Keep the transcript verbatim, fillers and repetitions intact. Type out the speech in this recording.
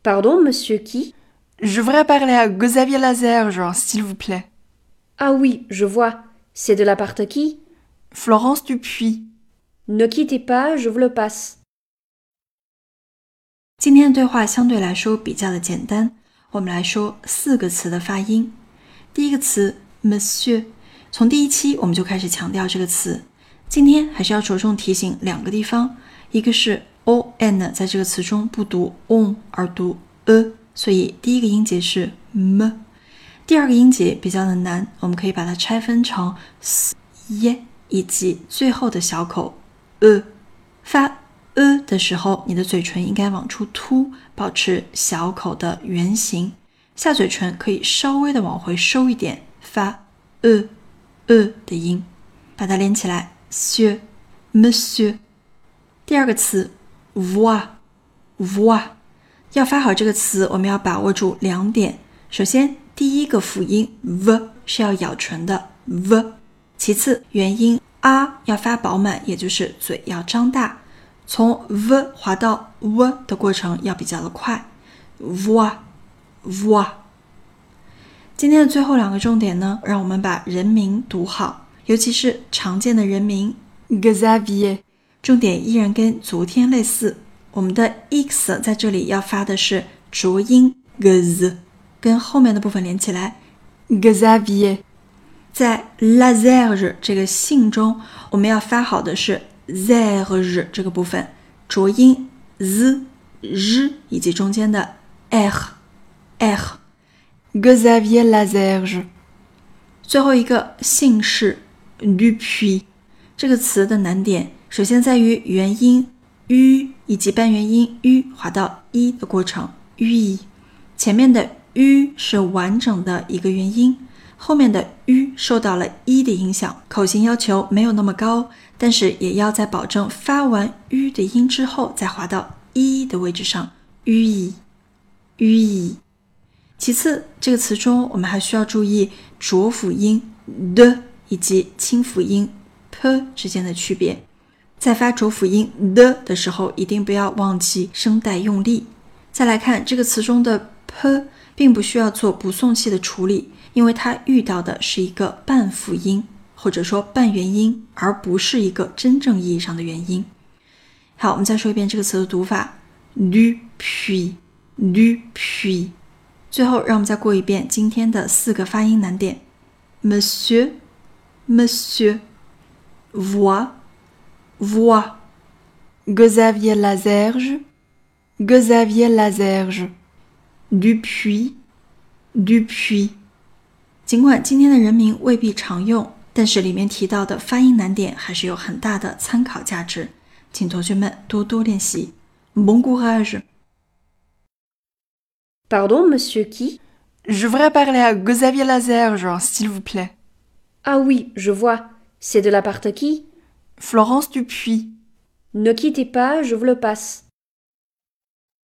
Pardon, monsieur qui? Je voudrais parler à Xavier Lazerge, s'il vous plaît. Ah oui, je vois. C'est de la part qui? Florence Dupuis. Ne quittez pas, je vous le passe. 今天的对话相对来说比较的简单，我们来说四个词的发音。第一个词 Monsieur， 从第一期我们就开始强调这个词。今天还是要着重提醒两个地方，一个是 on 在这个词中不读 on 而读 e， 所以第一个音节是 m。第二个音节比较的难，我们可以把它拆分成 s、y 以及最后的小口 e。发 e 的时候，你的嘴唇应该往出凸，保持小口的圆形，下嘴唇可以稍微的往回收一点，发 e e 的音，把它连起来 Monsieur Monsieur。 第二个词 voir voir， 要发好这个词，我们要把握住两点。首先第一个辅音 v 是要咬唇的 v， 其次元音 a 要发饱满，也就是嘴要张大，从 v 滑到 w 的过程要比较的快 voir voir。 今天的最后两个重点呢，让我们把人名读好，尤其是常见的人名 Xavier， 重点依然跟昨天类似，我们的 x 在这里要发的是浊音 g， 跟后面的部分连起来 Xavier。 在 Lazerge 这个姓中，我们要发好的是 zerge 这个部分，浊音 z、r 以及中间的 r r。 Xavier Lazerge。 最后一个姓氏 Dupuis， 这个词的难点首先在于元音 u 以及半元音 u 滑到一的过程 u， 前面的 u 是完整的一个元音，后面的 u 受到了一的影响，口型要求没有那么高，但是也要在保证发完 u 的音之后再滑到一的位置上 u u。 其次这个词中我们还需要注意浊辅音 的 以及清辅音 p 之间的区别，在发浊辅音 的 的时候一定不要忘记声带用力。再来看这个词中的 p 并不需要做不送气的处理，因为它遇到的是一个半辅音或者说半元音，而不是一个真正意义上的元音。好，我们再说一遍这个词的读法 Dupuis Dupuis。 最后让我们再过一遍今天的四个发音难点 Monsieur Monsieur Voir Voir Xavier Lazerge Xavier Lazerge Dupuis Dupuis。 尽管今天的人名未必常用，但是里面提到的发音难点还是有很大的参考价值，请同学们多多练习。 Bon courage。 Pardon, monsieur qui? Je voudrais parler à Xavier Lazerge, s'il vous plaît. Ah oui, je vois. C'est de la part qui? Florence Dupuis. Ne quittez pas, je vous le passe.